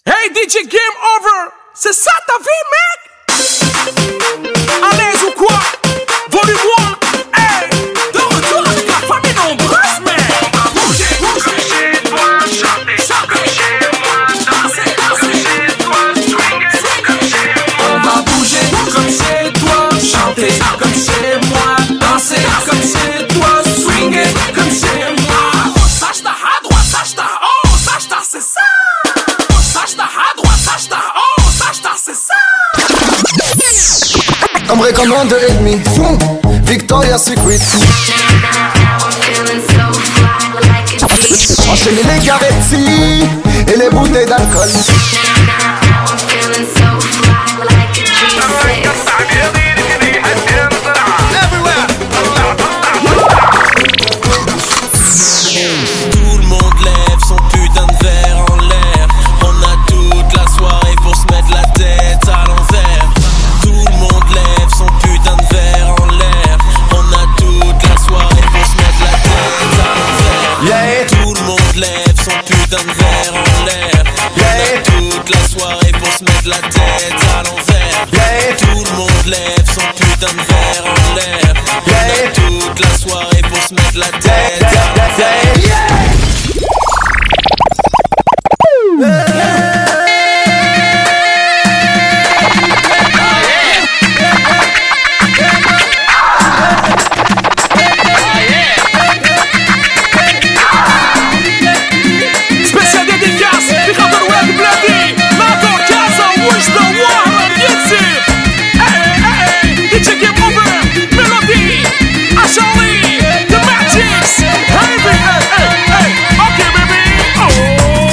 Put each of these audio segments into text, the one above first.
Hey DJ Game Over, c'est ça ta vie mec? À l'aise ou quoi? Volume 1, hey! De retour avec la famille nombreuse mec! Bouger, bouger chez toi, chanter comme chez moi, danser comme chez toi, swinguer comme chez moi. On va bouger comme chez toi, chanter comme chez moi, danser comme chez toi, swinguer comme chez moi. Sache ta à droite, sache ta haut, sache ta c'est ça! Un vrai comme un 2,5 fond, Victoria's Secret. Enchaîner les gavetti et les bouteilles d'alcool. Tout le monde lève son putain de verre en l'air. On a toute la soirée pour se mettre la tête à l'envers. Tout le monde lève son putain de verre en l'air. On a toute la soirée pour se mettre la tête à l'envers. Yeah. Tout le monde lève son putain de verre en l'air. On a toute la soirée pour se mettre la tête à l'envers. Yeah. Tout le monde lève son putain de verre en l'air. On a toute la soirée pour se mettre la tête à l'envers. Spécial dédicace, Ricardo Red Bloody, Marco Casa, Wish the War, Yetzi. Hey, DJ Game Over, Melody, Ashley, The Magics, Heavy, hey, okay baby, oh.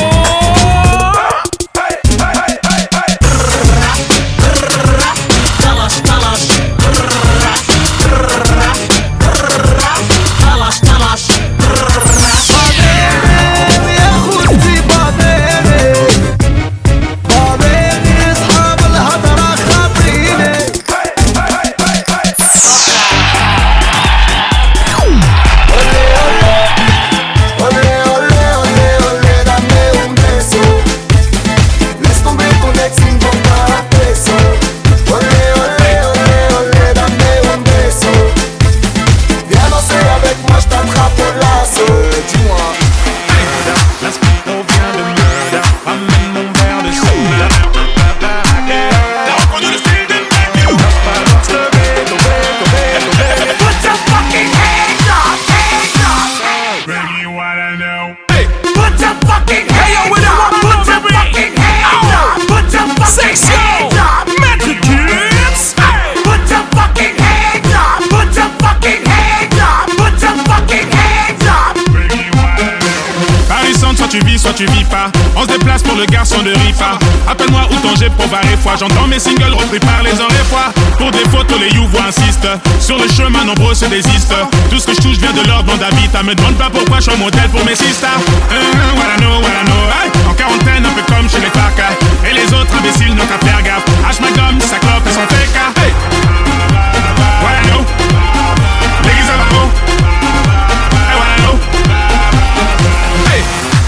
Soit tu vis pas, on se déplace pour le garçon de Rifa. Appelle-moi ou Tanger pour varier fois. J'entends mes singles repris par les heures et fois. Pour des photos les youvois insistent. Sur le chemin nombreux se désistent. Tout ce que je touche vient de leur bande d'habitat. Me demande pas pourquoi je suis un modèle pour mes sisters. What I know, hey. En quarantaine un peu comme chez les Farca. Et les autres imbéciles n'ont qu'à faire gaffe. H ma gomme, sa clope et son fake. Hey. What I know. L'église à la peau. Hey, what I know. Hey.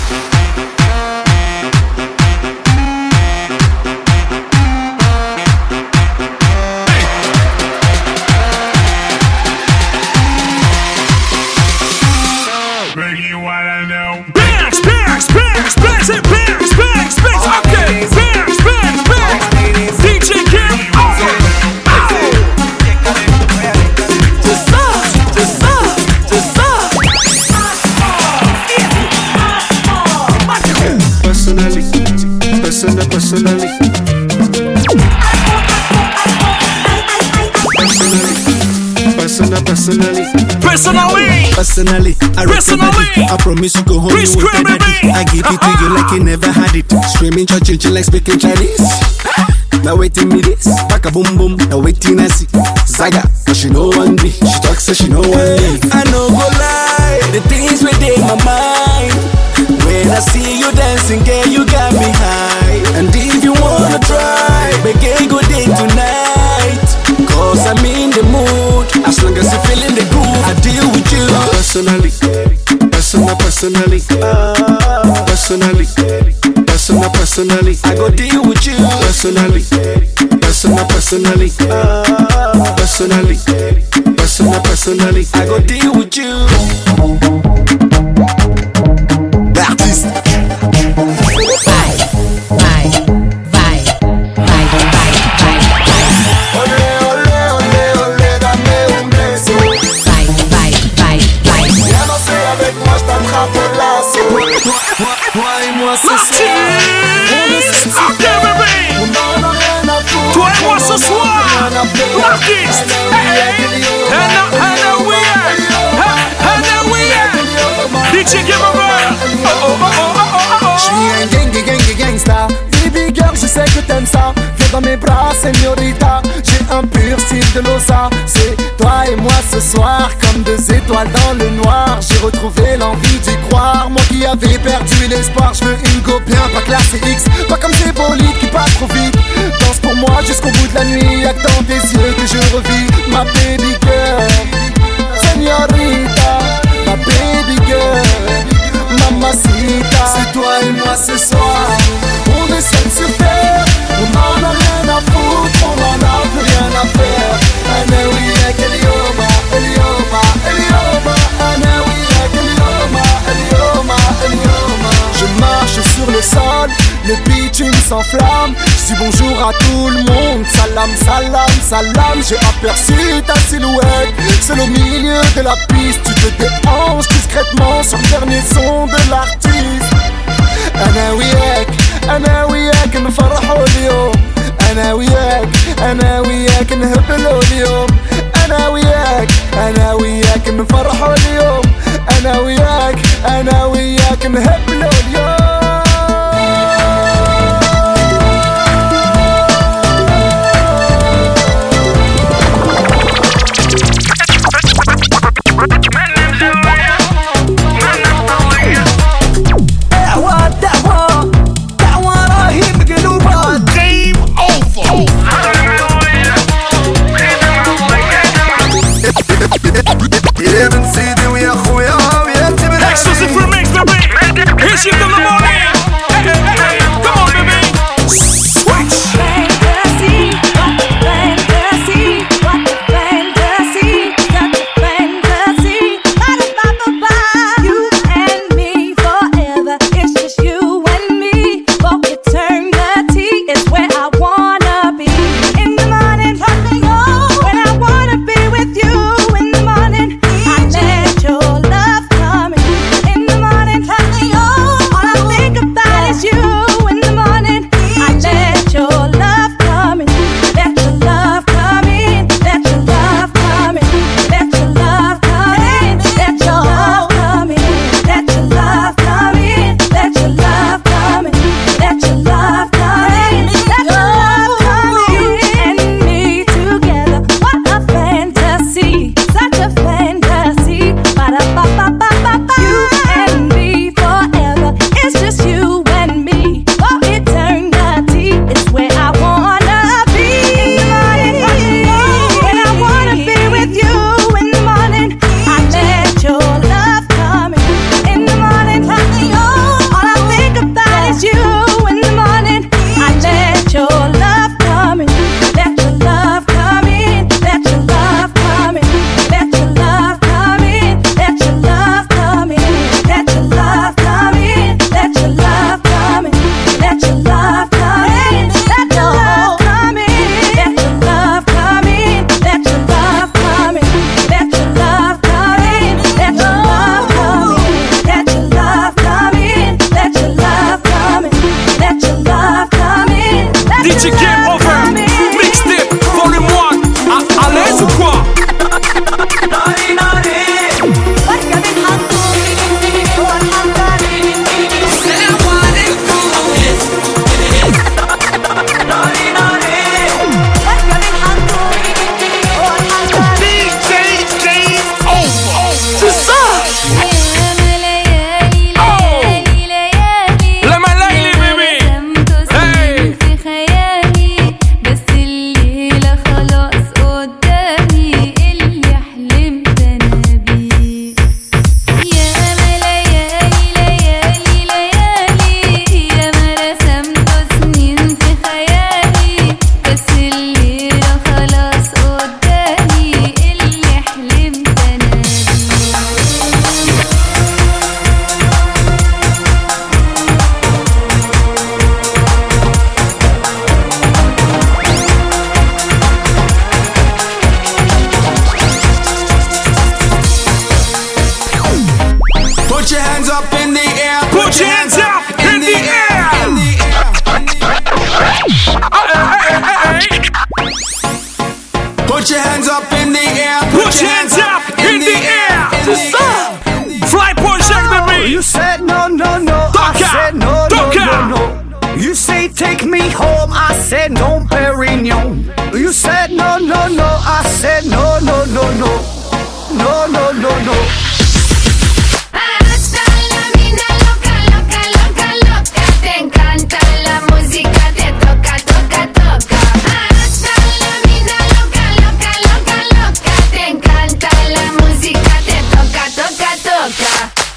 Personally, I recommend it. I promise you go home you won't regret it. I give it to you like you never had it. Screaming, churching like speaking Chinese. Now waiting me this, back a boom boom. Now waiting I see Zaga, cause she know one day. She talks so she know one day. I know go lie, the things within my mind. When I see you dancing, girl, you got me high. And if you wanna try, make a good day tonight. Cause I'm in the mood. As long as you're feeling the groove, I deal with you. Personally, personally, personally, Personally, I go deal with you. Personally, I go deal with you. L'artiste. Toi et moi ce soir. Ok bébé. Toi et moi ce soir. L'artiste. And we are. DJ Game Over. J'suis un gangsta. Baby girl, je sais que t'aimes ça. Viens dans mes bras, señorita. J'ai un pur style de l'osa. C'est toi et moi ce soir, comme deux étoiles dans le noir. J'ai retrouvé l'envie d'y croire. Moi qui avais perdu l'espoir. Je veux une go bien, pas classée X. Pas comme ces bolides qui passent trop vite. Danse pour moi jusqu'au bout de la nuit. Y'a que dans tes yeux que je revis. Ma baby girl, señorita. Ma baby girl, mamacita. C'est toi et moi ce soir. On est seul sur terre. On en a rien à foutre. On en a plus rien à faire. Anawiyak Elioma, Elioma, Elioma. Anawiyak Elioma, Elioma, Elioma. Je marche sur le sol, le bitume s'enflamme. Je dis bonjour à tout le monde. Salam, salam, salam. J'ai aperçu ta silhouette seul au milieu de la piste. Tu te déhanches discrètement sur le dernier son de l'artiste. أنا وياك نفرحوا اليوم. أنا وياك نهبلوا اليوم. أنا وياك نفرحوا اليوم. أنا وياك نهبلوا اليوم. Exclusive for me. say take me home, I said no, Perignon. You said no, no, no, I said no, no, no, no. No, no, no, no. Hasta la mina loca, loca, loca, loca. Te encanta la música, te toca, toca, toca. Hasta la mina loca, loca, loca, loca. Te encanta la música, te toca, toca, toca.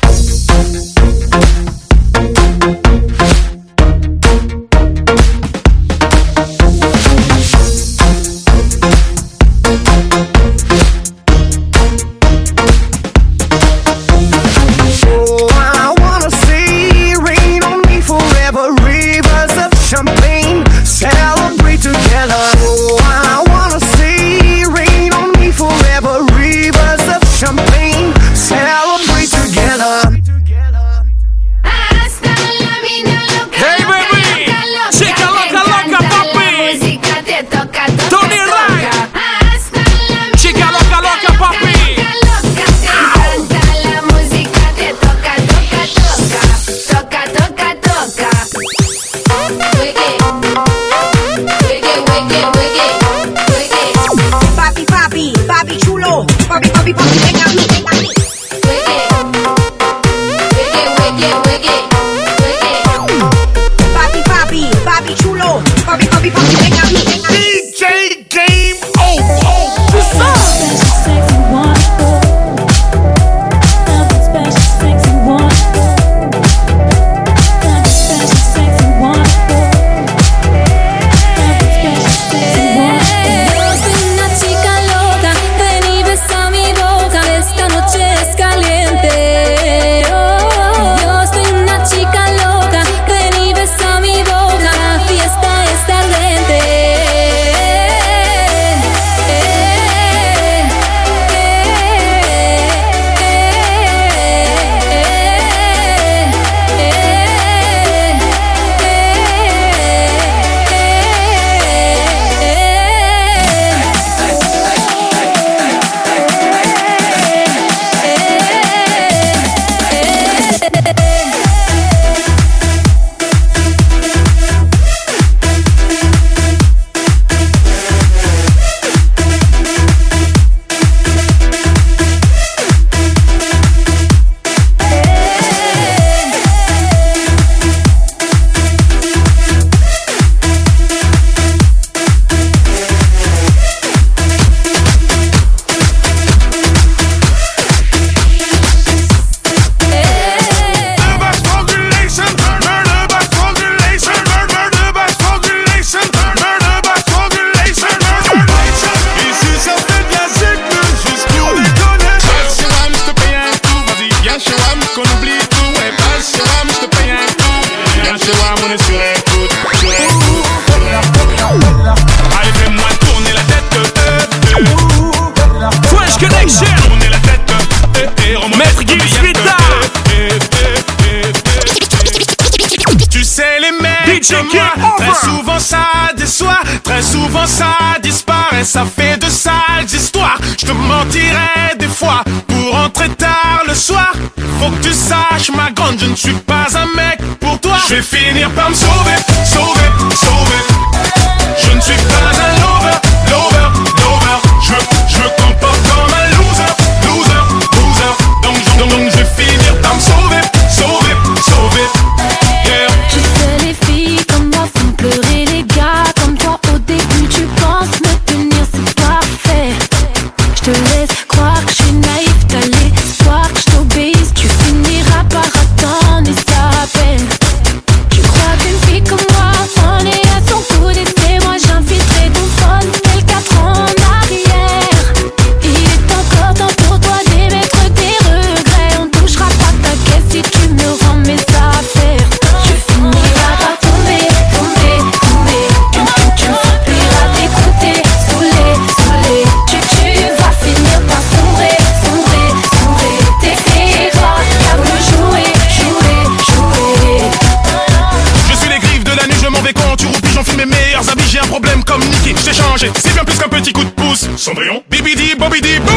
Ça fait de sales histoires. Je te mentirais des fois pour rentrer tard le soir. Faut que tu saches, ma grande, je ne suis pas un mec pour toi. Je vais finir par me sauver, sauver, sauver. Je ne suis pas un lover, lover, lover. Je me comporte comme un loser, loser, loser. Donc je vais finir par me sauver, sauver, sauver. Yeah. Je sais les filles comme moi font pleurer les gars comme toi. Au début tu penses me tenir, c'est parfait. Je te laisse croire que je suis naïf, t'as l'espoir que je t'obéisse. Tu finiras par attendre et ça peine. Tu crois qu'une fille comme moi en est à son coup d'essai. Moi j'infiltrerai ton phone tel 4 ans en arrière. Il est encore temps pour toi d'émettre tes regrets. On touchera pas ta caisse si tu me rends mes affaires. Tu finiras par tomber, tomber, tomber. Tu me supplieras d'écouter, saoulé, saoulé. Tu vas finir par sombrer, sombrer, sombrer. T'essaieras qu'à me jouer, jouer, jouer. Je suis les griffes de la nuit, je m'en vais quand tu roupilles. J'enfile mes meilleurs habits, j'ai un problème comme Nicky. J'ai changé, c'est bien plus qu'un petit coup de pouce. Cendrillon, bibidi, bobidi, bou.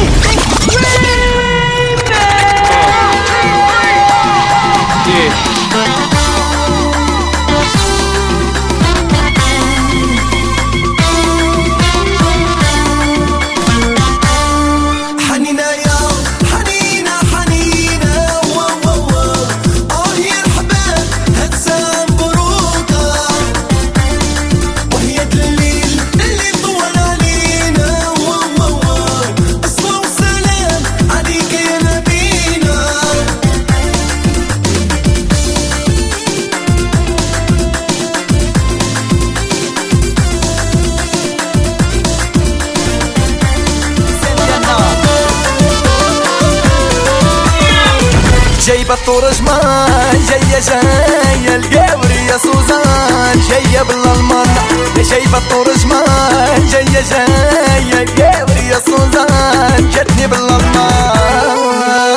جايبة الطرجمان جاية القوري يا سوزان جاية بالألمان جايبة الطرجمان جاية القوري يا سوزان جاتني بالألمان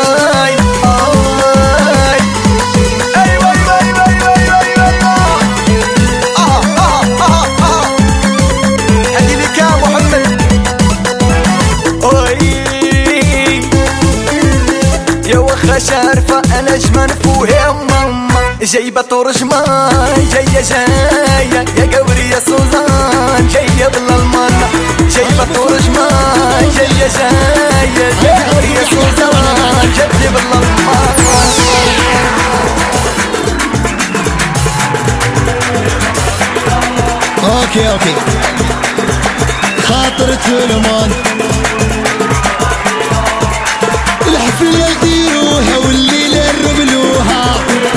شارفة أنا جمن فوها ماما جايبة طرجمان جاية يا قوري يا سوزان جاية بالألمان جايبة طرجمان جاية يا قوري يا سوزان جاية بالألمان اوكي خاطر تلمان الحفلة يديروها والليلة نربلوها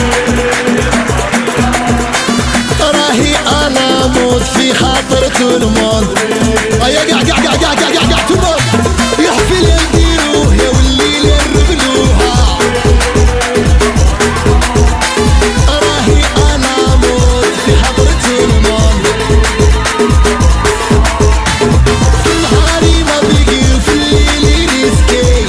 راهي أنا موت في خاطر تلمان يا قاع تلمان الحفلة يديروها والليلة نربلوها راهي أنا موت في خاطر تلمان في نهاري ما بقي في الليل ريسكي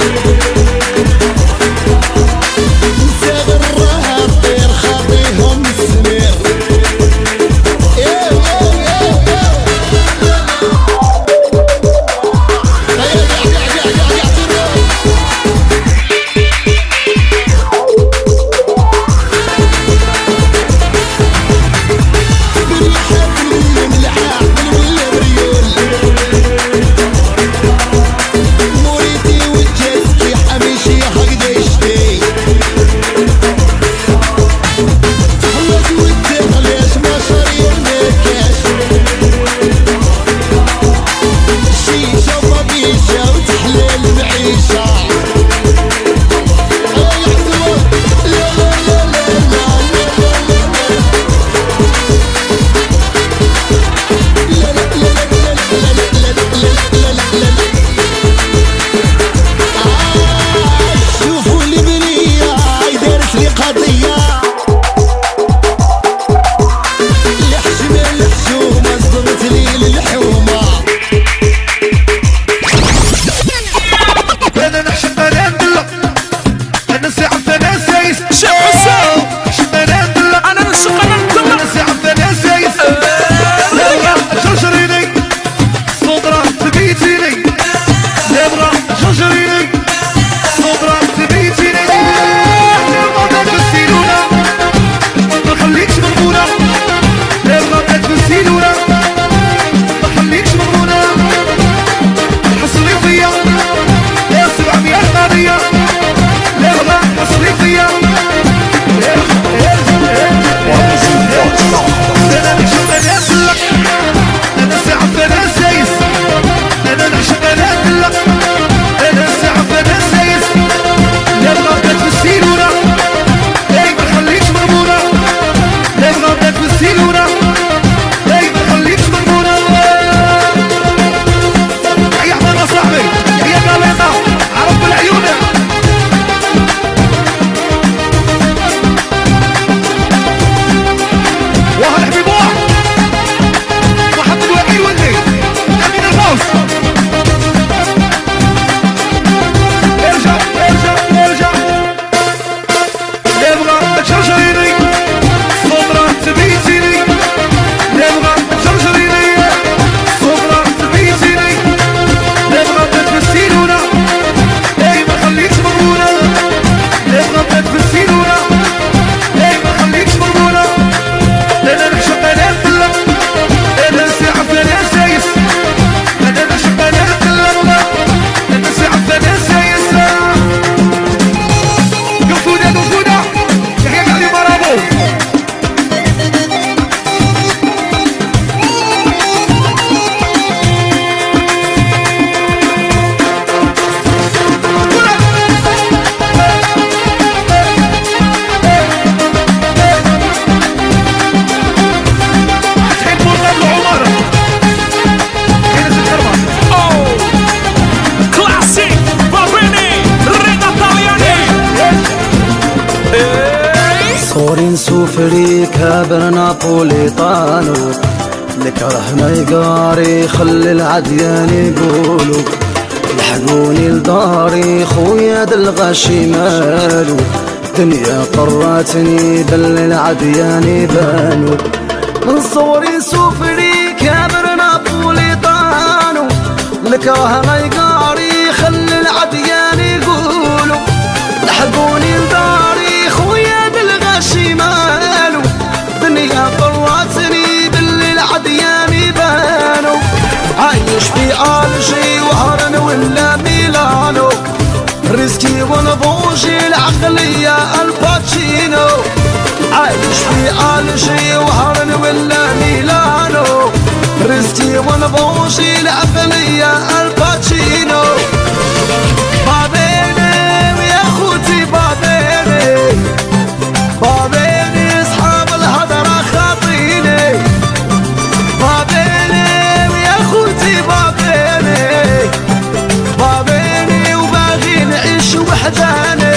سوفري كابر نابوليطانو الكره ما يقاري خلي العديان يقولوا لحقوني لداري خويا دلغاشي مالو دنيا قراتني بل العديان بانو من صوري سوفري كابر نابوليطانو الكره ما يقاري خلي العديان يقولوا لحقوني لداري خويا دلغاشي مالو دنيا قراتني بل العديان بانو عايش في ألجي وهرن ولا ميلانو رزقي ونبوجي العقلية الباتشينو عايش في ألجي وهرن ولا ميلانو رزقي ونبوجي العقلية الباتشينو بابيني ويا خوتي بابيني بابيني اصحاب الهدرة خاطيني بابيني ويا خوتي بابيني بابيني وباغي نعيش وحداني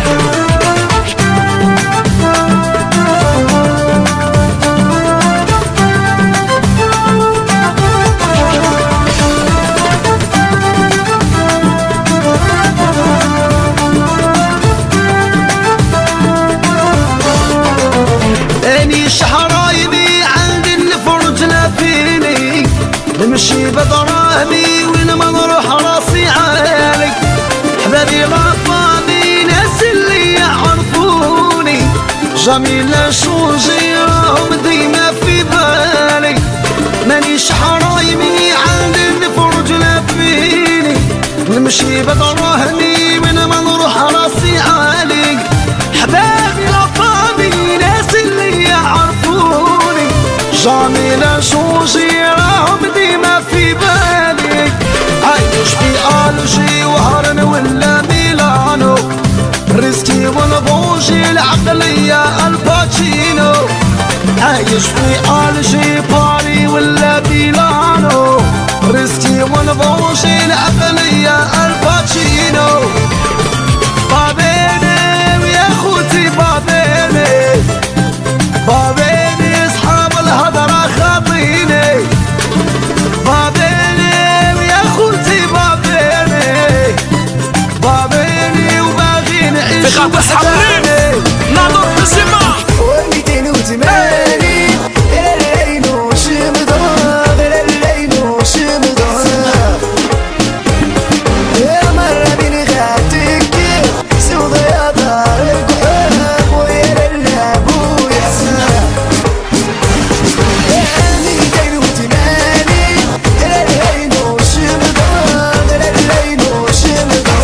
اني شحرايبي عندي الفرج لافيني نمشي بدراهمي وين ما نروح راسي عالي حبابي غفاني ناس اللي يعرفوني جميلة شوجي راهم ديما في بالي ماني شحرايبي عندي الفرج لافيني نمشي بدراهمي وين ما نروح راسي عالي حبابي غفاني ناس اللي يعرفوني جميلة شوجي راهم ديما في بالي عايش في ألجي وهرن ولا ميلانو رزقي ونبوجي العقلية الباتشينو عايش في ألجي باري ولا ميلانو رزقي ونبوجي العقلية الباتشينو بابيني ويا خوتي بابيني بابيني اصحاب الهدرة خاطيني بابيني ويا خوتي بابيني بابيني وباغي نعيش وحداني ناظر بسمة وليدين وزماني العين وشمضة غير العين وشمضة يا مرة بين غاتك سوض يا دار الكحام ويا للاب ويا سلام وليدين وزماني العين وشمضة غير العين وشمضة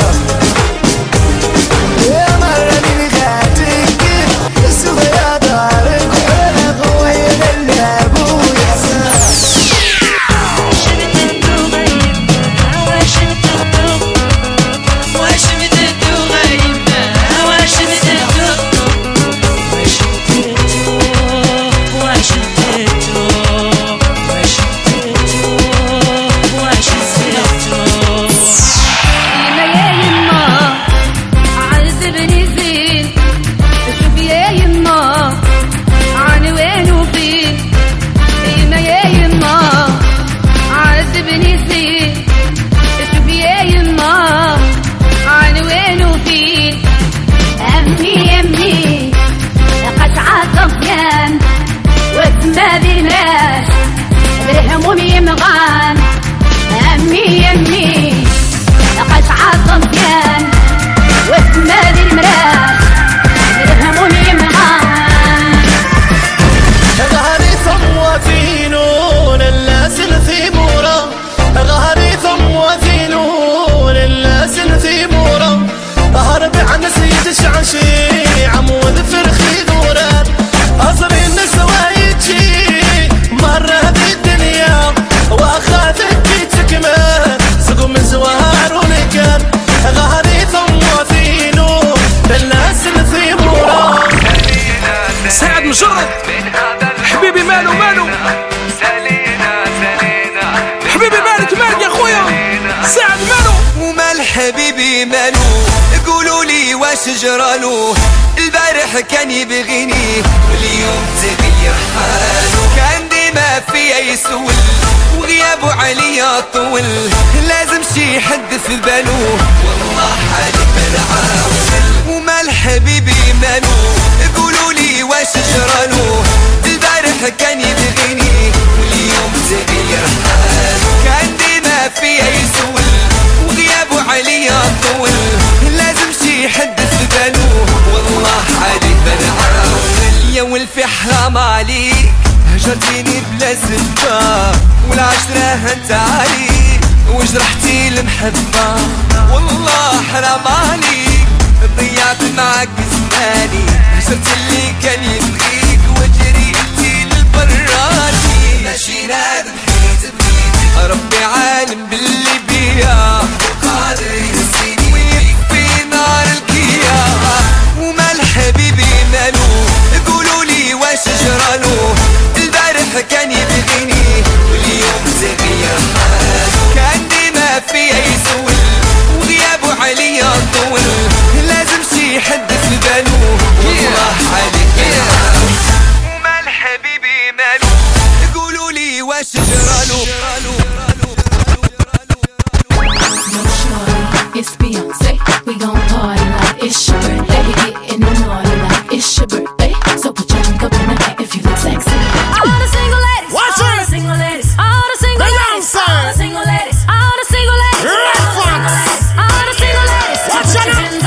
يا مرة بين غاتك سوض يا دار الكحام ويا للاب ويا سلام مجرد حبيبي مالو حبيبي مالك يا خويا سعد مالو ومال حبيبي مالو قولوا لي واش جرالو البارح البارح كان يبغيني واليوم تغير حاله، كان ديما فيا يسول وغيابه عليا طول، لازم شي حد في باله والله حالي بالعاول. ومال حبيبي مالو قولولي واش جرالو، البارح كان يبغيني واليوم تغير حاله، كان ديما فيا يسول وغيابه عليا طول، لازم شي حد في باله والله حالي بالعاول. يا ولفي حرام عليك هجرتيني بلا سبة، والعشرة هنت عليك وجرحتي المحبة، والله حرام عليك ضيعت معاك زماني، هجرت اللي كان يبغيك وجريتي للبراني، ماشي نادم حيت بغيتك ربي عالم باللي بيا وقادر ينسيني ويكفي نار الكيا. ومال حبيبي مالو قولولي واش جرالو، البارح كان يبغيني واليوم تغير حاله، كان ديما فيا يسول وغيابه عليا طول، لازم شي حد في باله والله حالي. ومال حبيبي مالو قولولي واش جرالو. It's Beyonce, we gon' party like it's your birthday. We getting it naughty like it's your birthday. So put your drink up in the back if you look sexy. All the single ladies, all the single ladies, all the single ladies, all the single ladies, all the single ladies, all the single ladies. Watch your hands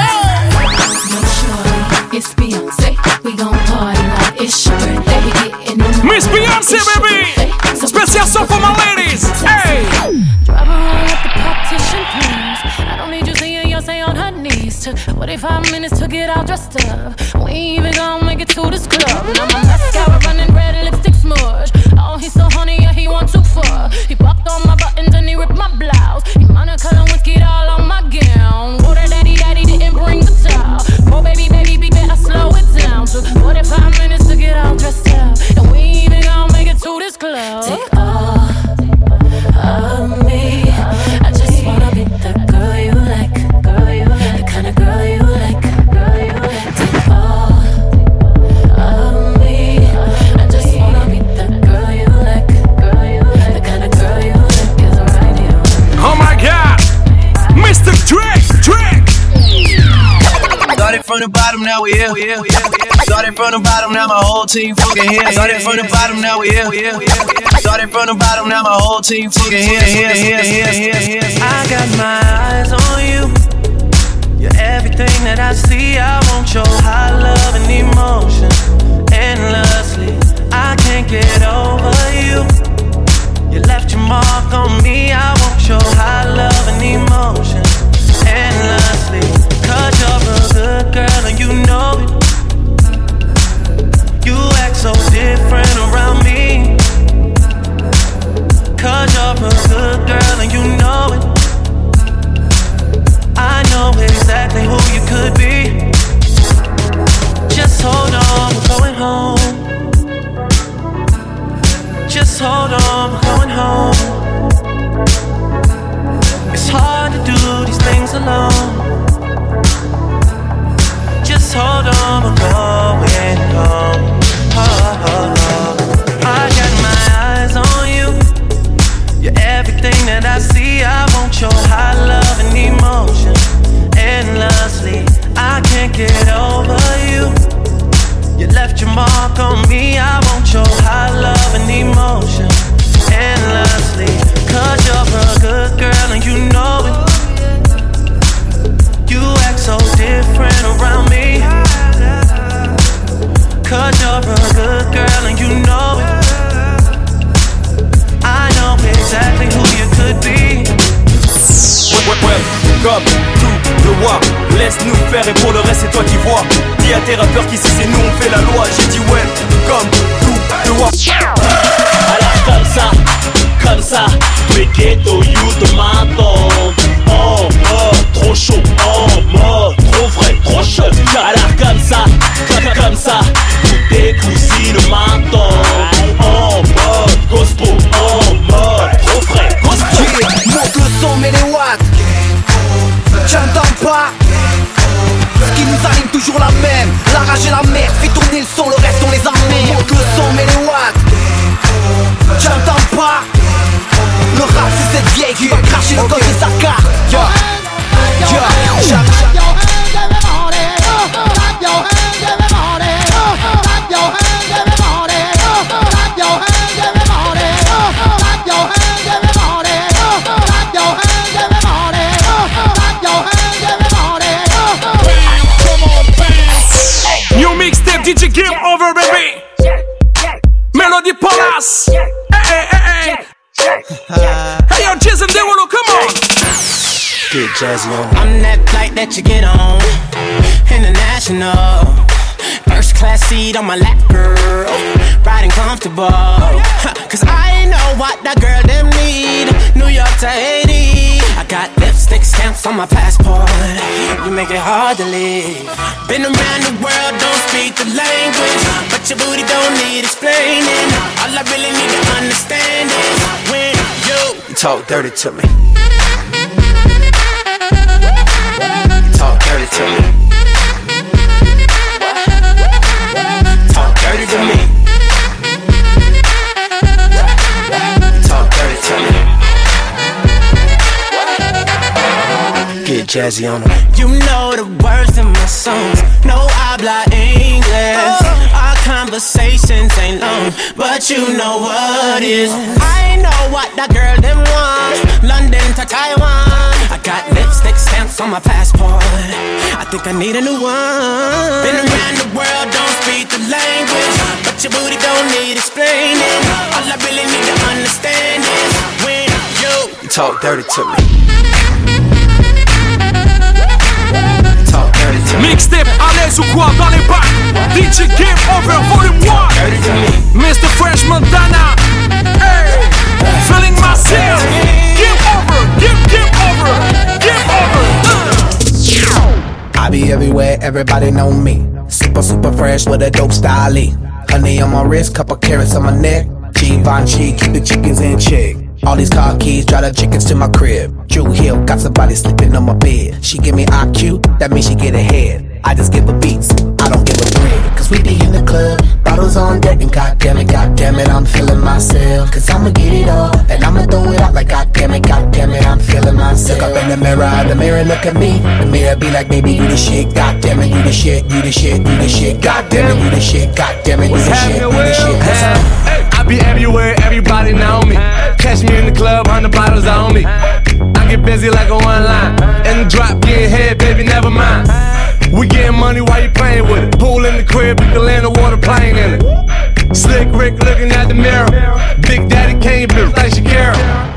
up. It's Beyonce, we gon' party like it's your birthday. We getting it naughty. Miss Beyonce, baby. Special song for my ladies. Hey. Drop her on with the partition pins. I don't need you seeing Beyonce on her knees. Took 45 minutes to get all dressed up. We ain't even gon' make it to this club. Now my mascara running red, lipstick smudge. Oh, he's so honey, yeah, he want too far. He popped on my buttons and he ripped my blouse. He Monaco whiskey all on my gown. Water daddy didn't bring the towel. Oh baby, better slow it down. Took 45 minutes to get all dressed up. And we ain't even gon' make it to this club. Take all of me. I just wanna be the girl you like, the kind of girl you like. Take all of me. I just wanna be the girl you like, the kind of girl you like. Is right here. Oh my God, Mr. Drake. Started from the bottom, now we here. Started from the bottom, now my whole team fucking here. Started from the bottom, now we here. Started from the bottom, now my whole team fucking here. I got my eyes on you. You're everything that I see. I want your high love and emotion endlessly. I can't get over you. You left your mark on me. I want your high love and emotion endlessly. 'Cause you're a good girl and you know it. You act so different around me. 'Cause you're a good girl and you know it. I know exactly who you could be. Just hold on, we're going home. Just hold on, we're going home. It's hard to do these things alone. Just hold on, we're going home. I got my eyes on you. You're everything that I see. I want your high love and emotion endlessly. I can't get over you. You left your mark on me. I want your high love and emotion endlessly. 'Cause you're a good girl and you know it. You act so different around me. 'Cause you're a good girl and you know it. I know exactly who you could be. Comme tout le roi, laisse-nous faire et pour le reste c'est toi qui vois. Dis à tes rappeurs qu'ici c'est nous on fait la loi. J'ai dit ouais, comme tout le roi. Alors comme ça, mes ghetto you te m'attendent. En mode trop chaud, en mode trop vrai, trop chaud. Alors comme ça, toutes tes cousines m'attendent. En mode gospel, en mode trop frais, gospel. Monte le son, mets les watts. J'entends pas. Ce qui nous anime toujours la même. La rage et la merde. Hey, yo, Jizz and Derulo, come on. Get jazzy on. I'm that flight that you get on, international. First class seat on my lap, girl, riding comfortable. Cause I know what that girl them need. New York to Haiti, I got lipstick stamps on my passport. You make it hard to leave. Been around the world, don't speak the language, but your booty don't need explaining. All I really need to understand is when you talk dirty to me. Talk dirty to me. Talk dirty to me. Talk dirty to me. Get jazzy on them. You know the words in my songs. No habla English. Our conversations ain't long, but you know what is. I know what that girl them want. London to Taiwan. I got lipstick stamps on my passport. I think I need a new one. Been around the world, don't speak the language, but your booty don't need explaining. All I really need to understand is when you talk dirty to me. Mixtape à l'aise ou quoi dans les bacs. DJ Game Over Volume 1. Mr. French Montana. Hey, feeling myself. Game over, game over, game over. I be everywhere, everybody know me. Super fresh with a dope style. Honey on my wrist, couple carrots on my neck. Givenchy, keep the chickens in check. All these car keys, drive the chickens to my crib. Drew Hill, got somebody sleeping on my bed. She give me IQ, that means she get ahead. I just give her beats, I don't give her bread. Cause we be in the club, bottles on deck, and goddamn it, I'm feeling myself. Cause I'ma get it all, and I'ma throw it out like goddamn it, I'm feeling myself. Look up in the mirror, look at me. The mirror be like, baby, you the shit, goddamn it, you the shit, you the shit, you the shit, goddamn it, you the shit, goddamn it, you the shit, you the shit. I be everywhere, everybody know me. Catch me in the club, 100 bottles on me. I get busy like a one line. In the drop, getting head, baby, never mind. We getting money while you playing with it. Pool in the crib, you can land a water plane in it. Slick Rick looking at the mirror. Big Daddy came built like Shakira.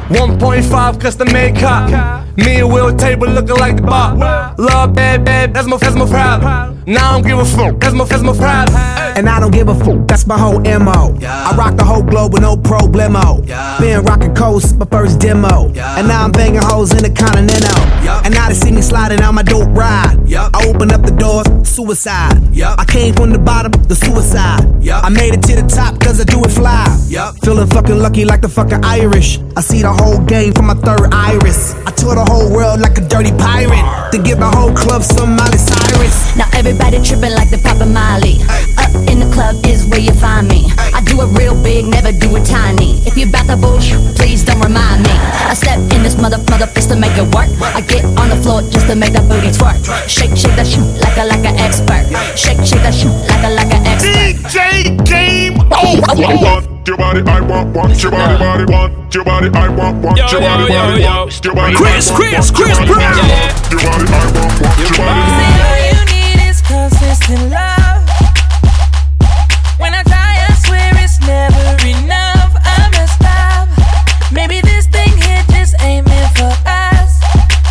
1.5 custom made cop. Me and Will table looking like the bar. Love bad, that's my problem. Now I don't give a fuck, that's my problem. And I don't give a fuck, that's my whole MO. I rock the whole globe with no problemo. Been rocking cold since my first demo. And now I'm banging hoes in the Continental. And now they see me sliding out my dope ride. I open up the doors, suicide. I came from the bottom, the suicide. I made it to the top cause I do it fly. Feeling fucking lucky like the fucking Irish. I see the whole game from my third iris. I tour the whole world like a dirty pirate. To give the whole club some Miley Cyrus. Now everybody tripping like the Papa Miley. Up in the club is where you find me. I do it real big, never do it tiny. If you bout the bullshit, please don't remind me. I step in this mother fist to make it work. I get on the floor just to make that booty twerk. Shake that shit like an expert. Shake that shit like an expert. DJ Game Over. Your body, I want your body, want your body, I want your body, want your body. Chris Brown. Your body, I want your body. All you need is consistent love. When I try, I swear it's never enough. I messed up. Maybe this thing here just ain't meant for us.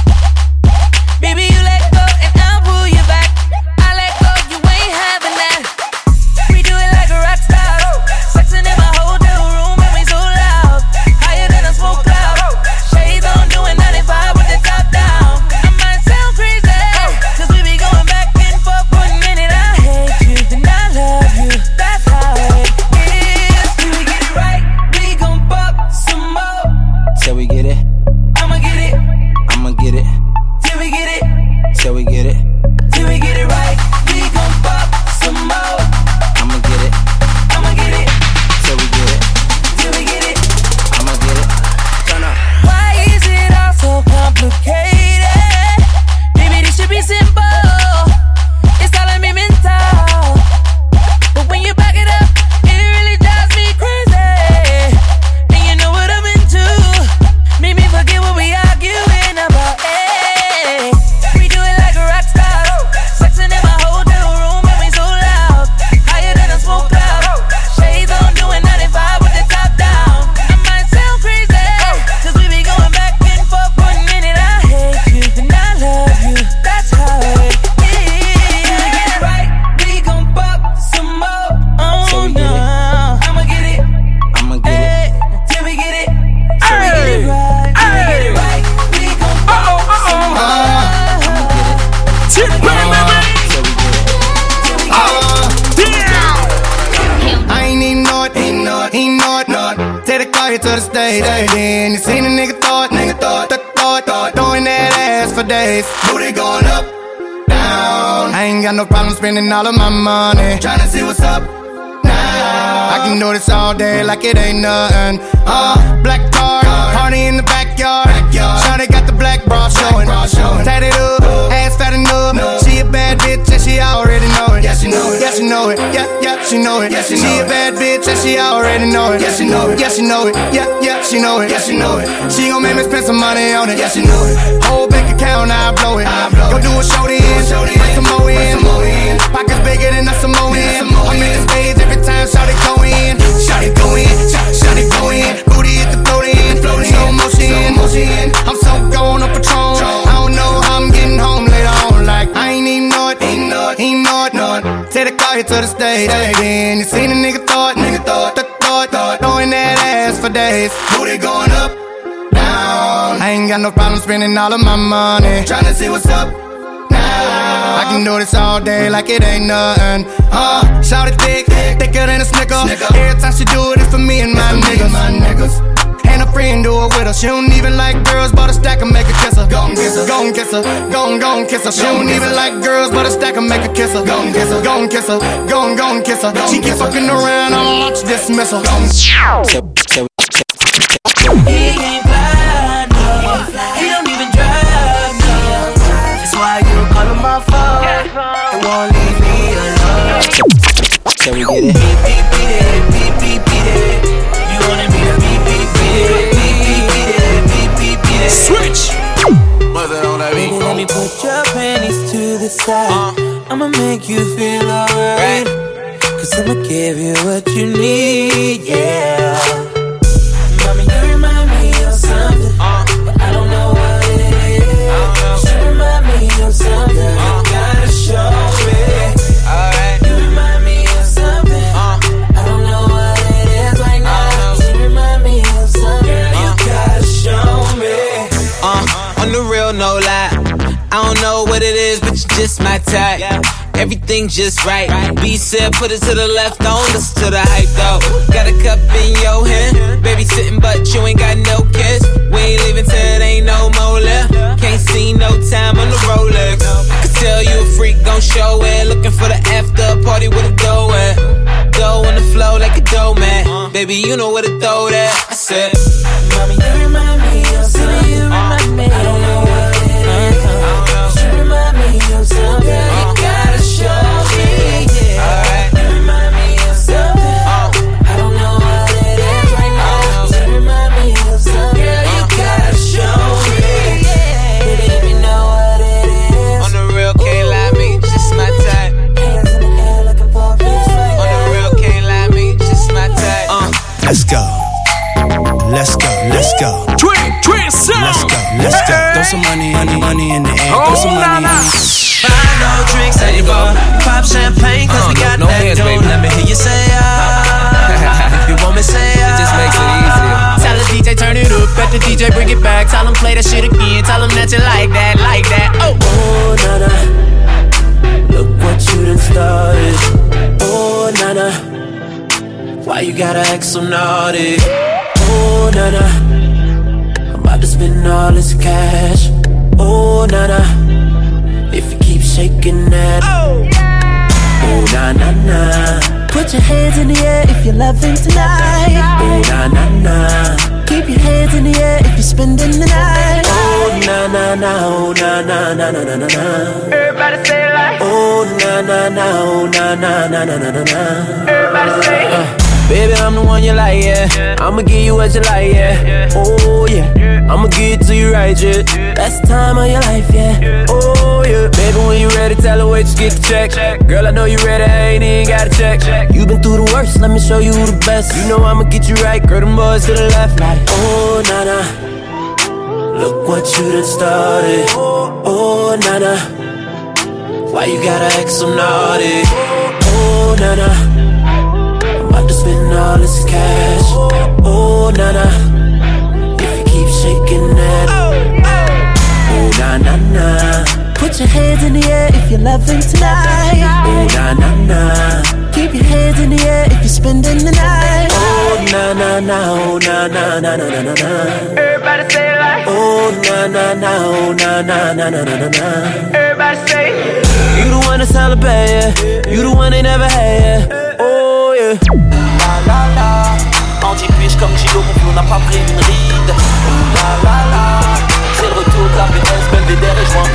Baby, you let go and I'll pull you back. I let go, you ain't having that. We do it like a rock star. Sexing in my hotel room and we so loud. Higher than a smoke cloud. Shades on doing 95 with the top down. I might sound crazy, cause we be going back and forth, putting in it our head. call you to the stage. Then you seen a nigga thought, throwing that ass for days. Booty going up, down. I ain't got no problem spending all of my money, tryna see what's up now. I can do this all day like it ain't nothing. Black card, party in the backyard. Shawty got the black bra showing. Tatted up, ass fat enough. She a bad bitch and she already know it. Yeah, she know it. Yeah, she know it. Yeah, she know it. She a bad bitch and she already know it. Yeah, she know it. Yeah, she know it. Yeah, she know it. Yeah, she know it. She gon' make me spend some money on it. Yeah, she know it. Whole bank account, I blow it. Go do a show then, bring some more in. Pockets bigger than a Samoan. I'm in the stage every time Shawty go in. Shawty go in. Shawty go in. Booty hit the float in. Slow motion. I'm so gone on Patron. I don't know how I'm getting home later on. Like I ain't even know it. Ain't know it. Take the car here to the stage. Then you seen a nigga thought, throwing that ass for days. Booty going up, down. I ain't got no problem spending all of my money, tryna see what's up now. I can do this all day like it ain't nothing. Shout it thicker than a Snicker. Every time she do it, it's for me and my niggas. And a friend do it with her. She don't even like girls, but a stack and make her kiss her. Gon' kiss her, gon' kiss her, gon' kiss her. She don't even like girls, but a stack and make her kiss her. Gon' kiss her, gon' kiss her, gon' kiss her. She keep fucking around, I'll launch dismissal. He ain't fly, no. He don't even drive, no. That's why you call him my phone and won't leave me alone. Can we get it? Beep, it. You wanted me to beep, it. Switch. Baby, let me put your panties to the side. I'ma make you feel alright. Cause I'ma give you what you need, yeah. Mommy, you remind me of something, but I don't know what it is. You remind me of something, you gotta show me. Alright. You remind me of something, I don't know what it is right now. You remind me of something, you gotta show me. On the real, no lie. I don't know what it is, but you're just my type. Everything just right. B said, put it to the left, don't listen to the hype though. Got a cup in your hand, baby sitting, but you ain't got no kiss. We ain't leaving till it ain't no more left. Can't see no time on the Rolex. I can tell you a freak, gon' show it. Looking for the after party with a dough at. Dough on the flow like a dough man. Baby, you know where to throw that. I said, Mommy, you remind me of something. You remind me. I don't know what it is. You remind me of something. You gotta show me. Yeah. You remind me of something. I don't know what it is right now. You remind me of something. Girl, you gotta show me. Baby, if you know what it is. on the real, can't lie, me, just my type. Hands in the air looking for a bitch like On the real, can't lie, me, just my type. Let's go. Let's go. Twin sound. Let's go. Throw some money in the air. Throw some money in the air. Buy no drinks anymore. Pop champagne cause we got that dough. Let me hear you say if you want me say It just makes it easier. Tell the DJ turn it up, bet the DJ bring it back. Tell him play that shit again, tell him that you like that. Oh, nana, look what you done started. Oh, nana, why you gotta act so naughty? Oh, nana, I'm about to spend all this cash. Oh, nana, if you keep shaking that. Oh, na na na. Put your hands in the air if you're loving tonight. Oh, na na na. Keep your hands in the air if you're spending the night. Oh, na na na. Oh, na na na na na na na. Everybody say it like. Oh, na na na. Oh, na na na na na na na. Everybody say it. Baby, I'm the one you like, yeah. I'ma give you what you like, yeah. Oh, yeah. I'ma give it to you right, yeah. Best time of your life, yeah. Oh, yeah. Baby, when you ready, tell her wait, just get the check. Girl, I know you ready, I ain't even gotta check. You been through the worst, let me show you the best. You know I'ma get you right, girl, them boys to the left, like. Oh, nana, look what you done started. Oh, nana, why you gotta act so naughty? Oh, nana, about to spend all this cash. Oh, nana, if you keep shaking that. Oh, na na na. Put your hands in the air if you're loving tonight. Oh, na na na. Keep your hands in the air if you're spending the night. Oh, na na na. Oh, na na na na na na na. Everybody say it like. Oh na na na, oh na na na na na na na. Everybody say it. You the one to celebrate, yeah. You the one they never had, yeah. Oh yeah. La la la. Anti-push comme Gilo, mon flow n'a pas pris une ride. La la la. C'est le retour de la PS, Belvedere et joint.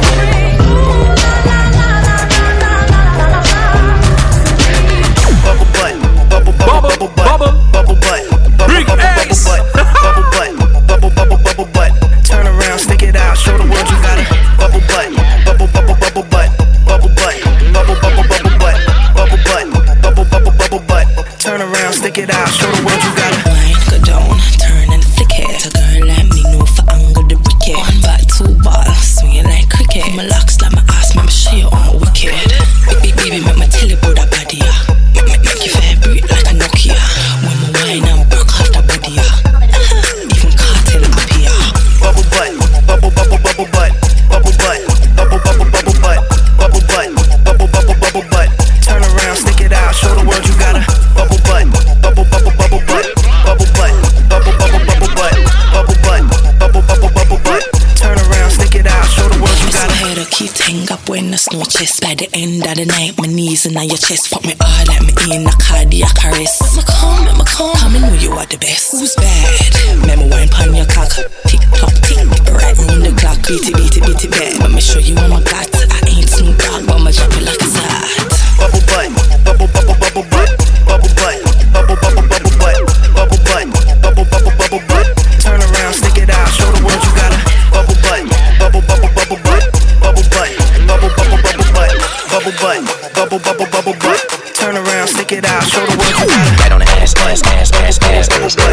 Bubble butt, bubble bubble bubble bubble butt, big ass, bubble butt, bubble bubble bubble butt. Turn around, stick it out, show the world you got it. Bubble butt, bubble bubble bubble butt, bubble butt, bubble bubble bubble butt, bubble butt, bubble bubble bubble butt. Turn around, stick it out, show the world you got it. Wine, go down, turn and flick it. A girl like me know for angle the wicket. One bat, two ball, swing it like cricket. My locks like my ass, make me show you all my wicked. Baby, make my tell you about that body, yeah. Make you vibrate like a Nokia. When my wine and work off the body, yeah. Even cartel up here. Bubble butt, bubble bubble bubble butt, bubble butt, bubble bubble bubble butt, bubble butt, bubble bubble bubble butt. Turn around, stick it out, show the world you got a bubble butt, bubble bubble bubble butt, bubble butt, bubble bubble bubble butt, bubble butt, bubble bubble bubble butt. Turn around, stick it out, show the world you got a. Head a keep hang up when the snow chest. By the end of the night, my knees in your chest. Fuck me hard like me in a cardiac arrest. Make me come, come and know you are the best. Who's bad? Remember wine pan your cock. Tick tock tick, right round the clock. Beat it bad. Let me show you what I got. I ain't Snoop Dogg, but I'ma drop it like a sad. Bubble butt, bubble bubble bubble butt, bubble butt, bubble bubble bubble butt, bubble butt, bubble bubble bubble butt. Turn around, stick it out, show the world you got a bubble butt, bubble bubble bubble butt, bubble butt, bubble bubble bubble butt, bubble butt, bubble bubble bubble butt. Turn around, stick it out, show the world you got it. Right on the ass, ass, ass, ass, ass,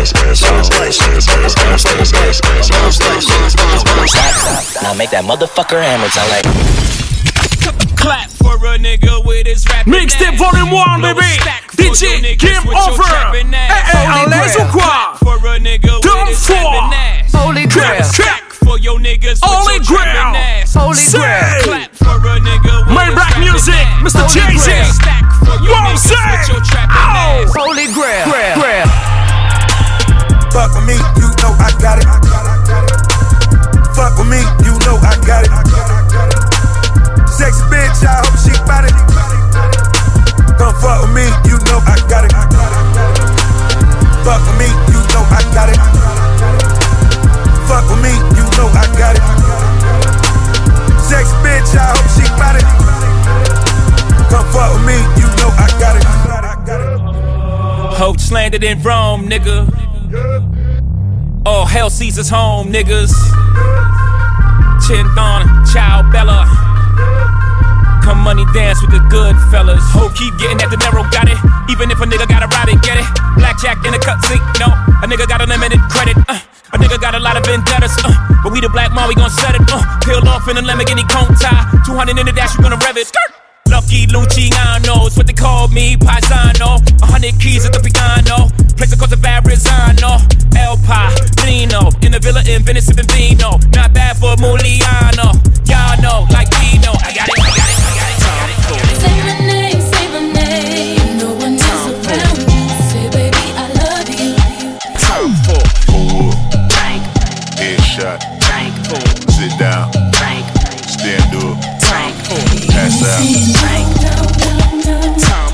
ass. Now make that motherfucker hammer sound like. Clap for a nigga with his rap. Mixtape volume 1, baby. DJ Game Over. Enlève ou quoi? Done for. Holy grail. For your niggas Holy grail. Holy grail. Clap for a nigga with my black music, Mr. Jay-Z. What I'm saying? Holy grail. Grail. Fuck with me, you know I got it. Fuck with me, you know I got it. Sexy bitch, I hope she bout it. Come fuck with me, you know I got it. Fuck with me, you know I got it. Fuck with me, you know I got it. Sexy bitch, I hope she bout it. Come fuck with me, you know I got it. Hope landed in Rome, nigga. Oh, hell Caesar's home, niggas. Chinthon, Ciao Bella. Come money dance with the good fellas. Hope keep getting that dinero, got it. Even if a nigga gotta ride it, get it. Blackjack in a cutscene, no. A nigga got unlimited credit, A nigga got a lot of vendettas, But we the black mom, we gon' set it, Peel off in a Lamborghini cone tie. 200 in the dash, you gonna rev it. Skirt. Lucky Luciano, it's what they call me, Paisano. 100 keys at the piano. Place called the Verrazano. El Padrino, in the villa in Venice, sipping vino. Not bad for Muliano. Y'all know, like Dino. I got it. Say my name, no one else around me. Say baby, I love you. Time for pull up, drink, headshot, drink, sit down, drink, stand up, drink, pass out, drink, time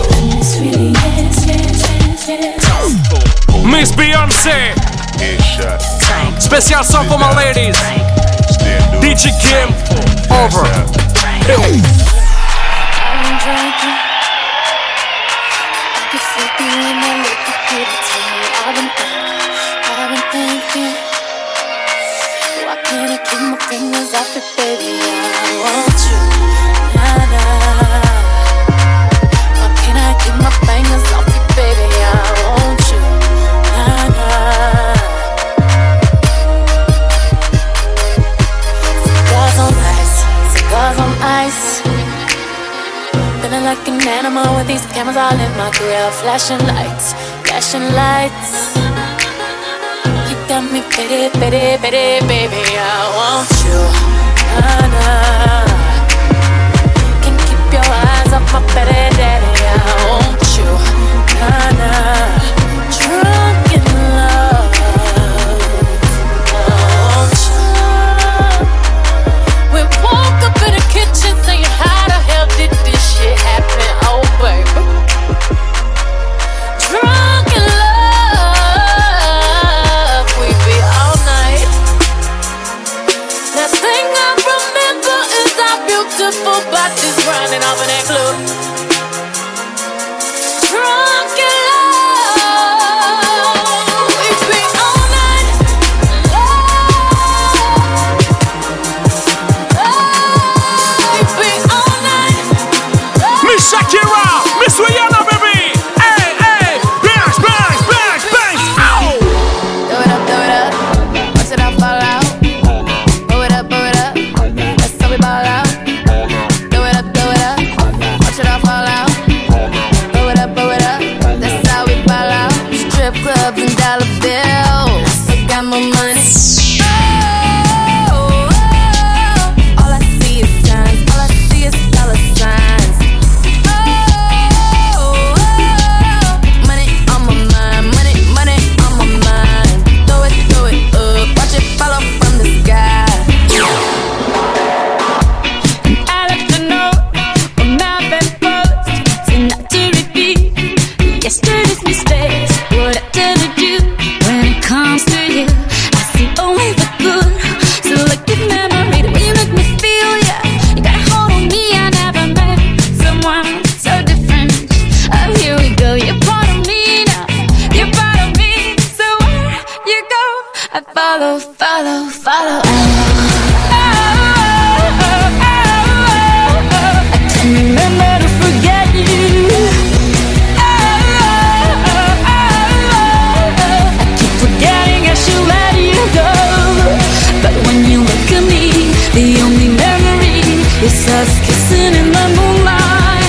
for Miss Beyoncé, headshot, special song for my ladies. DJ Kim, over. I'm drinking. I can see you when I look at you. Tell me I've been thinking. Why can't I keep my fingers off it, baby? I want you, nah. Why can't I keep my fingers off it, baby? I want you, nah. Cigars on ice. Feeling like an animal with these cameras all in my grill. Flashing lights. You got me pity, baby. I want you, nah. Can't keep your eyes off my petty daddy. I want you, nah. Drunk in love. follow, follow, follow. I can't remember to forget you. I keep forgetting I should let you go. But when you look at me, the only memory is us kissing in the moonlight.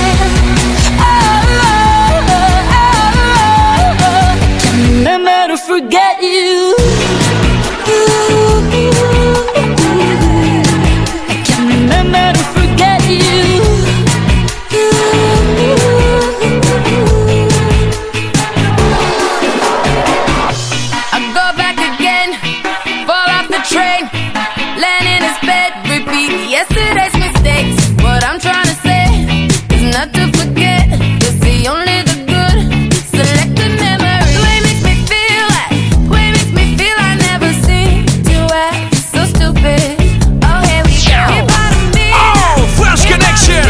I can't remember to forget you. I can't remember to forget you. I go back again, fall off the train, land in his bed, repeat yesterday's mistakes. What I'm trying to say is not to forget, it's the only the good selected memory. The way it makes me feel I never seen you act so stupid. Oh, here we go. You're part of me. Oh, Fresh Connection.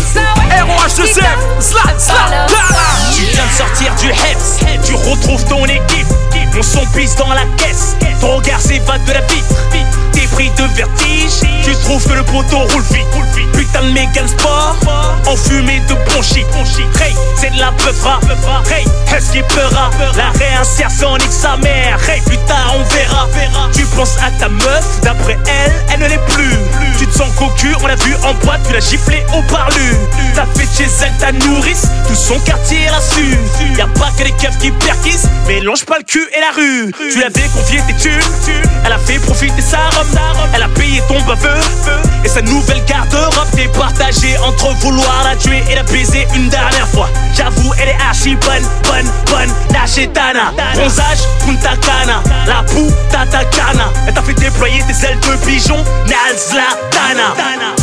ROH2F, Slat, Slat, Tu viens de sortir du Heps, tu retrouves ton équipe. Mon son pisse dans la caisse, ton regard s'évade de la vitre. T'es pris de vertige, tu trouves que le poteau roule vite. Putain de Mégane Sport, enfumé de bon shit. Hey, c'est de la peufra. Hey, est-ce qu'il pleura? La réinsertion nique sa mère. Hey, plus tard on verra. Tu penses à ta meuf, d'après elle, elle ne l'est plus. Tu te sens cocu, on l'a vu en boîte, tu l'as giflé au parlu. T'as fait de chez elle ta nourrice, tout son quartier l'a su. Y'a pas que les keufs qui perquissent, mélange pas le cul et la rue. Tu l'avais confié tes thunes, elle a fait profiter sa robe. Elle a payé ton baveux et sa nouvelle garde-robe. T'es partagé entre vouloir la tuer et la baiser une dernière fois. J'avoue, elle est archi bonne, la chétana. Bronzage, Punta Cana, la puta cana. Elle t'a fait déployer tes ailes de pigeon, Nazlatana.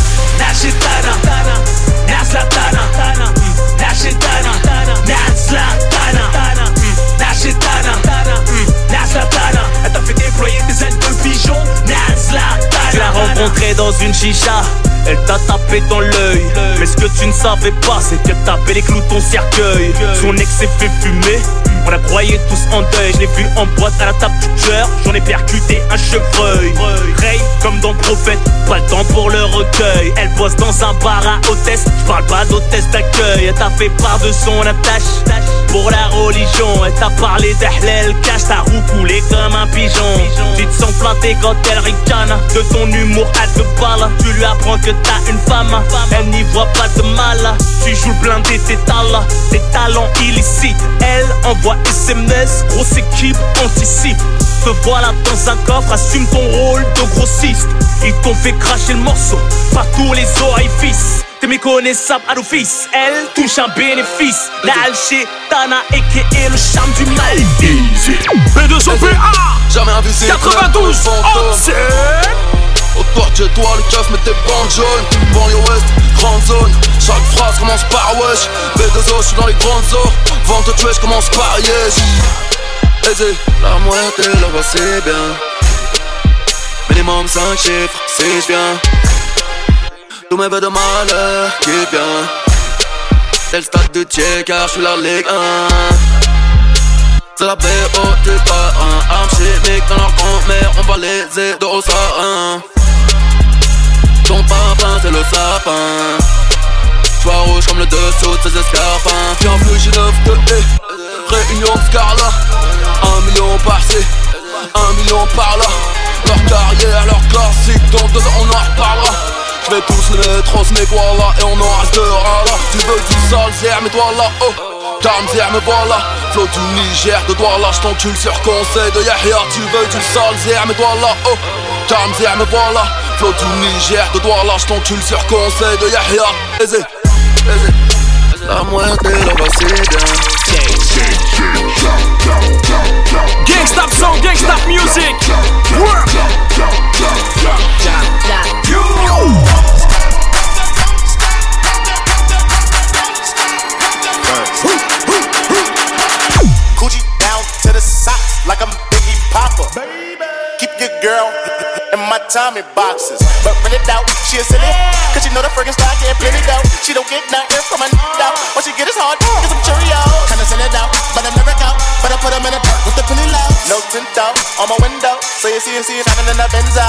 La chétana, Nazlatana. La chétana, Nazlatana. La chétana, Nazlatana. Elle t'a fait déployer tes ailes de pigeon, Nazlatana. Tu l'as rencontrée dans une chicha, elle t'a tapé dans l'œil. Mais ce que tu ne savais pas, c'est qu'elle tapait les clous ton cercueil. Son ex s'est fait fumer, on la croyait tous en deuil. Je l'ai vu en boîte à la table du tueur, j'en ai percuté un chevreuil. Ray, comme dans Prophète, pas le temps pour le recueil. Elle bosse dans un bar à hôtesse, je parle pas d'hôtesse d'accueil. Elle t'a fait part de son attache pour la religion. Elle t'a parlé d'Ahlel, cache ta roue coulée comme un pigeon. Tu te sens planté quand elle ricane, de ton humour à deux balles. Tu lui apprends que t'as une femme, elle n'y voit pas de mal. Tu joues le blindé, tes talents illicites. Elle envoie SMS, grosse équipe anticipe. Te voilà dans un coffre, assume ton rôle de grossiste. Ils t'ont fait cracher le morceau par tous les orifices. T'es méconnaissable à l'office, elle touche un bénéfice. La Alchétana a.k.a. le charme du maléfice. B2OPA, jamais invisible, 92 Onsen. Autour de chez toi, le keuf met tes bandes jaunes. Banlieue ouest, grande zone. Chaque phrase commence par wesh. B2O, j'suis dans les grandes eaux. Vente de tuer, j'commence par yes. Aisé, la moitié là-bas c'est bien. Minimum 5 chiffres, si j'viens. Tous mes vœux de malheur, qui bien. C'est le stade de Thiers car j'suis la Ligue 1. C'est la BO du parrain. Armes chimiques dans leur grand-mère, on va les aider au sarin. Ton parfum c'est le sapin. J'vois rouge comme le dessous de ses escarpins. Bienvenue chez 9 de réunion de Scarla. 1 million par-ci, 1 million par-là. Leur carrière, leur classique, dans 2 ans on en reparlera. J'vais tous les mettre au SMIC, voilà, et on en restera là. Tu veux du sale, zère, mais toi là, oh. Tarmzère, me voilà. Flow du Niger, de Douala, j't'encule sur conseil de Yahya. Tu veux du sale, zère, mais toi là, oh. Tarmzère, me voilà. Flow du Niger, de Douala, j't'encule sur conseil de Yahya. Aisé, aisé. La moitié là-bas c'est bien. Gangsta song, gangsta music. Work. Coochie down to the socks like I'm Biggie Popper. Keep your girl in my Tommy boxes. But really doubt she a silly, cause she know the friggin' style get plenty dough. She don't get nothing from a doubt. What she get is hard, get some Cheerios. Kinda send it out, but I never count. But I put them in the dirt with the penny low. No tint out on my window, so you see it shining in the Benzo.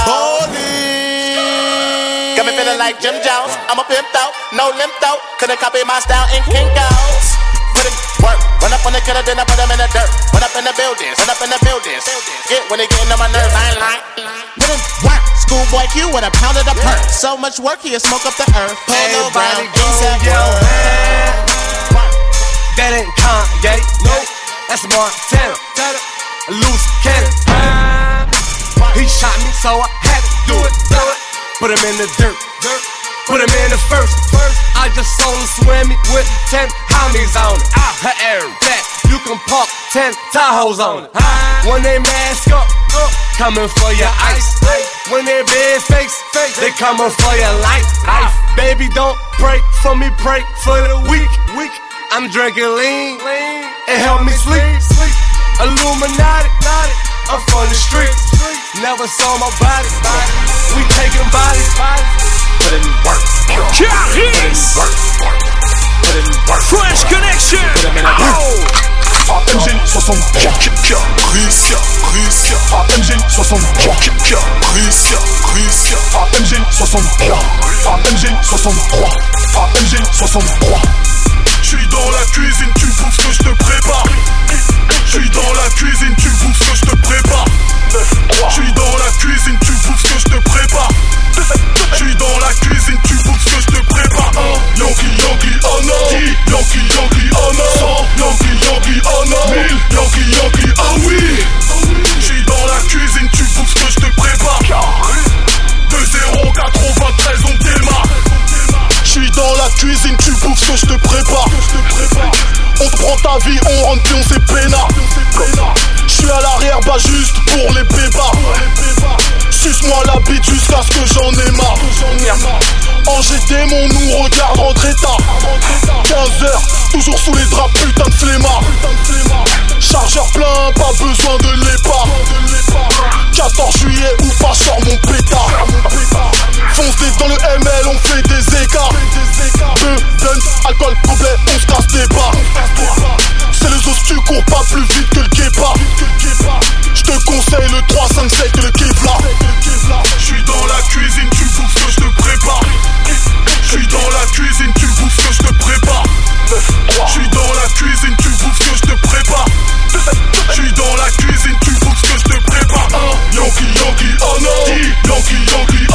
Holy, got me feeling like Jim Jones. I'm a pimped out, no limp out. Couldn't copy my style in Kinko's. Put in work, run up on the killer, then I put them in the dirt. Run up in the buildings, run up in the buildings. Get when they getting on my nerves, I ain't lying. Put in work, schoolboy Q with a pound of the perk. So much work, he'll smoke up the earth. Polo brown, ASAP roll. That ain't Kanye, nope, that's Montana. A loose cannon. He shot me, so I had to do it. Put him in the dirt. Put him in the first. I just saw him swimming with 10 homies on it. Her air that you can park 10 Tahoes on it. When they mask up, coming for your ice. When they big face, they coming for your life. Baby, don't pray for me, pray for the weak. I'm drinking lean, it help me sleep. Illuminati, I'm from the streets. Never saw my body. We taking bodies. Put in work. Caris. Fresh Connection. AMG 63 AMG 63 AMG 63 AMG 63. J'suis dans la cuisine, tu bouffes ce que j'te prépare. J'suis dans la cuisine, tu bouffes ce que j'te prépare. J'suis dans la cuisine, tu bouffes ce que j'te prépare. J'suis dans la cuisine, tu bouffes ce que j'te prépare. Yankee, oh non. Yankee, oh non. Yankee, oh non. Yankee, ah oui. J'suis dans la cuisine, tu bouffes ce que j'te prépare. 2-0, 93, on démarre. J'suis dans la cuisine, tu bouffes ce que j'te prépare. On te prend ta vie, on rentre puis on s'est peinard. J'suis à l'arrière, bah juste pour les bébars. Suce-moi la bite jusqu'à ce que j'en ai marre. En GT, mon nous regarde rentrer tard. 15h, toujours sous les draps, putain de flemmard. Chargeur plein, pas besoin de l'EPA. 14 juillet ou pas, sors mon pétard. Fonce dans le ML, on fait des écarts. Beuden, alcool complet, on se casse des barres. C'est le os, tu cours pas plus vite que le Kepa. J'te conseille le 357 que le Kevlar. J'suis dans la cuisine, tu bouffes ce que j'te prépare. J'suis dans la cuisine, tu bouffes ce que j'te prépare. J'suis dans la cuisine, tu bouffes ce que j'te prépare. J'suis dans la cuisine, tu bouffes ce que j'te prépare. Yankee, oh non. Yankee,